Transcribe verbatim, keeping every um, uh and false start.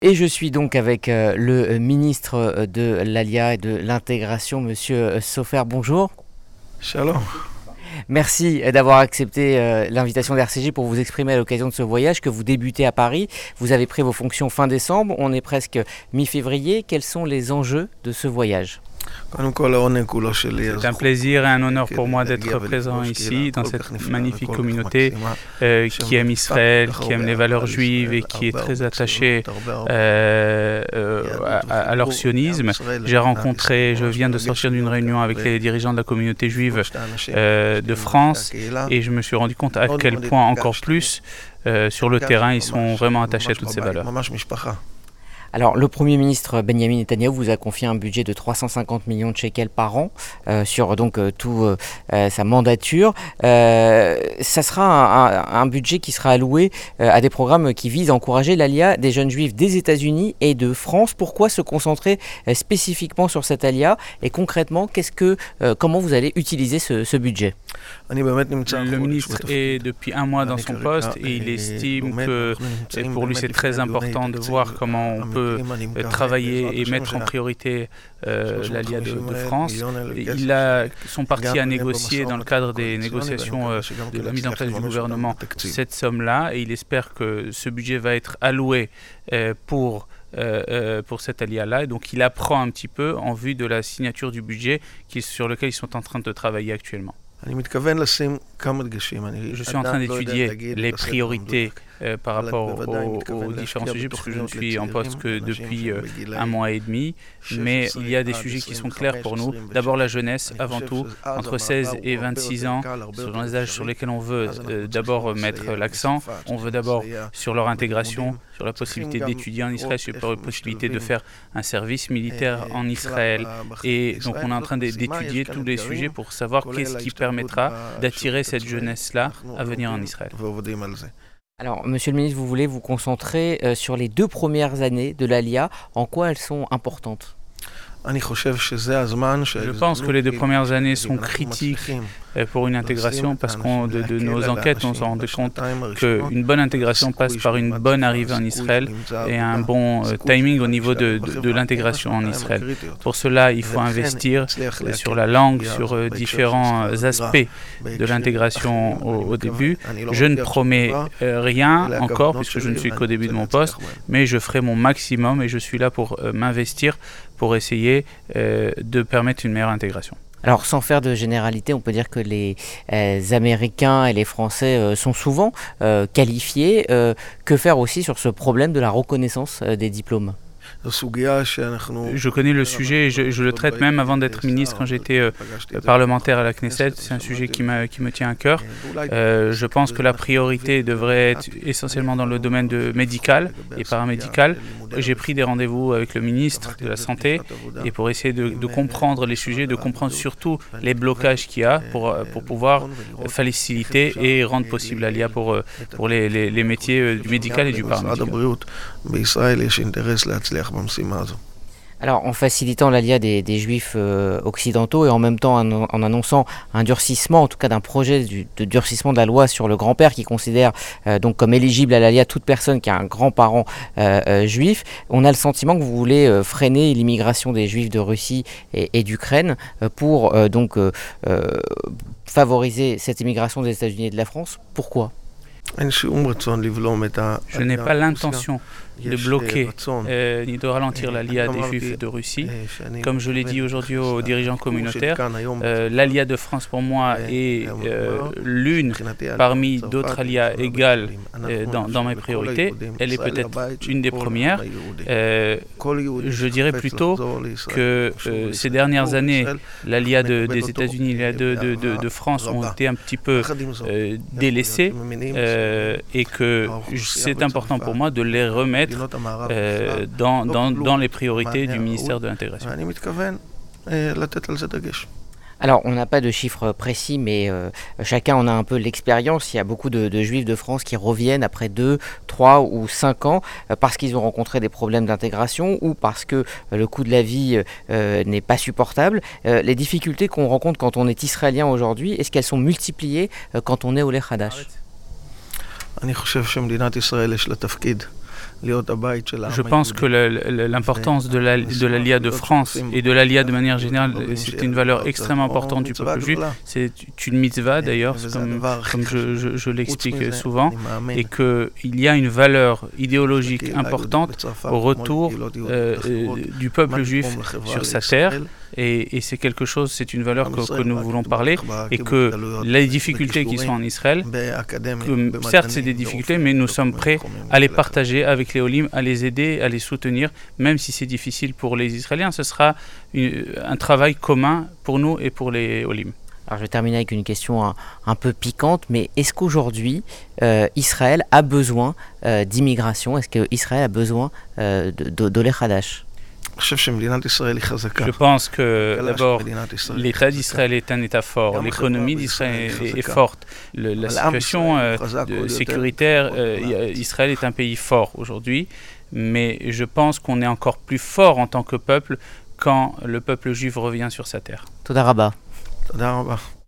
Et je suis donc avec euh, le ministre de l'Alia et de l'intégration, Monsieur Sofer. Bonjour. Shalom. Merci d'avoir accepté euh, l'invitation d'R C J pour vous exprimer à l'occasion de ce voyage que vous débutez à Paris. Vous avez pris vos fonctions fin décembre, on est presque mi-février. Quels sont les enjeux de ce voyage ? C'est un plaisir et un honneur pour moi d'être présent ici, dans cette magnifique communauté euh, qui aime Israël, qui aime les valeurs juives et qui est très attachée euh, euh, à, à leur sionisme. J'ai rencontré, je viens de sortir d'une réunion avec les dirigeants de la communauté juive euh, de France et je me suis rendu compte à quel point encore plus euh, sur le terrain ils sont vraiment attachés à toutes ces valeurs. Alors, le Premier ministre Benjamin Netanyahou vous a confié un budget de trois cent cinquante millions de shekels par an euh, sur donc euh, tout euh, sa mandature. Euh, ça sera un, un, un budget qui sera alloué euh, à des programmes qui visent à encourager l'Alia des jeunes juifs des États-Unis et de France. Pourquoi se concentrer euh, spécifiquement sur cette Alia et concrètement, qu'est-ce que, euh, comment vous allez utiliser ce, ce budget ? Le ministre est depuis un mois dans son poste et il estime que pour lui c'est très important de voir comment on peut travailler et mettre en priorité euh, l'Alia de, de France. Ils a, sont partis à négocier dans le cadre des négociations euh, de la mise en place du gouvernement cette somme-là et il espère que ce budget va être alloué euh, pour Euh, euh, pour cette alia-là. Et donc il apprend un petit peu en vue de la signature du budget qui, sur lequel ils sont en train de travailler actuellement. Je suis en train d'étudier les priorités euh, par rapport aux, aux différents sujets, parce que je ne suis en poste que depuis euh, un mois et demi, mais il y a des sujets qui sont clairs pour nous. D'abord la jeunesse, avant tout, entre seize et vingt-six ans, ce sont les âges sur lesquels on veut euh, d'abord mettre l'accent. On veut d'abord sur leur intégration, sur la possibilité d'étudier en Israël, sur la possibilité de faire un service militaire en Israël. Et donc on est en train d'étudier tous les sujets pour savoir qu'est-ce qui permettra d'attirer cette jeunesse-là à venir en Israël. Alors, Monsieur le ministre, vous voulez vous concentrer euh, sur les deux premières années de l'Alia. En quoi elles sont importantes ? Je pense que les deux premières années sont critiques pour une intégration parce que de, de nos enquêtes, on s'est rendu compte qu'une bonne intégration passe par une bonne arrivée en Israël et un bon timing au niveau de, de, de l'intégration en Israël. Pour cela, il faut investir sur la langue, sur différents aspects de l'intégration au, au début. Je ne promets rien encore puisque je ne suis qu'au début de mon poste, mais je ferai mon maximum et je suis là pour m'investir pour essayer euh, de permettre une meilleure intégration. Alors, sans faire de généralité, on peut dire que les euh, Américains et les Français euh, sont souvent euh, qualifiés. Euh, que faire aussi sur ce problème de la reconnaissance euh, des diplômes ? Je connais le sujet, et je, je le traite même avant d'être ministre quand j'étais euh, parlementaire à la Knesset. C'est un sujet qui, qui me tient à cœur. Euh, je pense que la priorité devrait être essentiellement dans le domaine de médical et paramédical. J'ai pris des rendez-vous avec le ministre de la Santé et pour essayer de, de comprendre les sujets, de comprendre surtout les blocages qu'il y a pour, pour pouvoir faciliter et rendre possible l'Alia pour, pour les, les, les métiers du médical et du paramédical. Alors, en facilitant l'Alia des, des Juifs euh, occidentaux et en même temps en, en annonçant un durcissement, en tout cas d'un projet du, de durcissement de la loi sur le grand-père qui considère euh, donc comme éligible à l'Alia toute personne qui a un grand-parent euh, euh, juif, on a le sentiment que vous voulez euh, freiner l'immigration des Juifs de Russie et, et d'Ukraine euh, pour euh, donc euh, euh, favoriser cette immigration des États-Unis et de la France. Pourquoi ? Je n'ai pas l'intention de bloquer euh, ni de ralentir l'Alia des Juifs de Russie. Comme je l'ai dit aujourd'hui aux dirigeants communautaires, euh, l'Alia de France pour moi est euh, l'une parmi d'autres Alias égales euh, dans, dans mes priorités. Elle est peut-être une des premières. Euh, je dirais plutôt que euh, ces dernières années, l'Alia de, des États-Unis et de, de, de, de France ont été un petit peu euh, délaissées euh, et que c'est important pour moi de les remettre Euh, dans, dans, dans les priorités du ministère de l'Intégration. Alors, on n'a pas de chiffres précis, mais euh, chacun en a un peu l'expérience. Il y a beaucoup de, de Juifs de France qui reviennent après deux, trois ou cinq ans euh, parce qu'ils ont rencontré des problèmes d'intégration ou parce que euh, le coût de la vie euh, n'est pas supportable. Euh, les difficultés qu'on rencontre quand on est israélien aujourd'hui, est-ce qu'elles sont multipliées euh, quand on est au Lech Hadash ? Je pense que l'importance de la, de l'Aliyah de France et de l'Aliyah de manière générale, c'est une valeur extrêmement importante du peuple juif. C'est une mitzvah d'ailleurs, comme, comme je, je, je l'explique souvent, et qu'il y a une valeur idéologique importante au retour euh, du peuple juif sur sa terre. Et, et c'est quelque chose, c'est une valeur que, que nous voulons parler, et que les difficultés qui sont en Israël, que, certes c'est des difficultés, mais nous sommes prêts à les partager avec les Olim, à les aider, à les soutenir, même si c'est difficile pour les Israéliens. Ce sera une, un travail commun pour nous et pour les Olim. Alors je vais terminer avec une question un, un peu piquante, mais est-ce qu'aujourd'hui euh, Israël a besoin euh, d'immigration? Est-ce qu'Israël a besoin euh, d'Olé Hadash? Je pense que d'abord l'État d'Israël est un État fort, l'économie d'Israël est, est forte, Le, la situation euh, de, sécuritaire, euh, Israël est un pays fort aujourd'hui, mais je pense qu'on est encore plus fort en tant que peuple quand le peuple juif revient sur sa terre. Toda Rabba. Toda Rabba.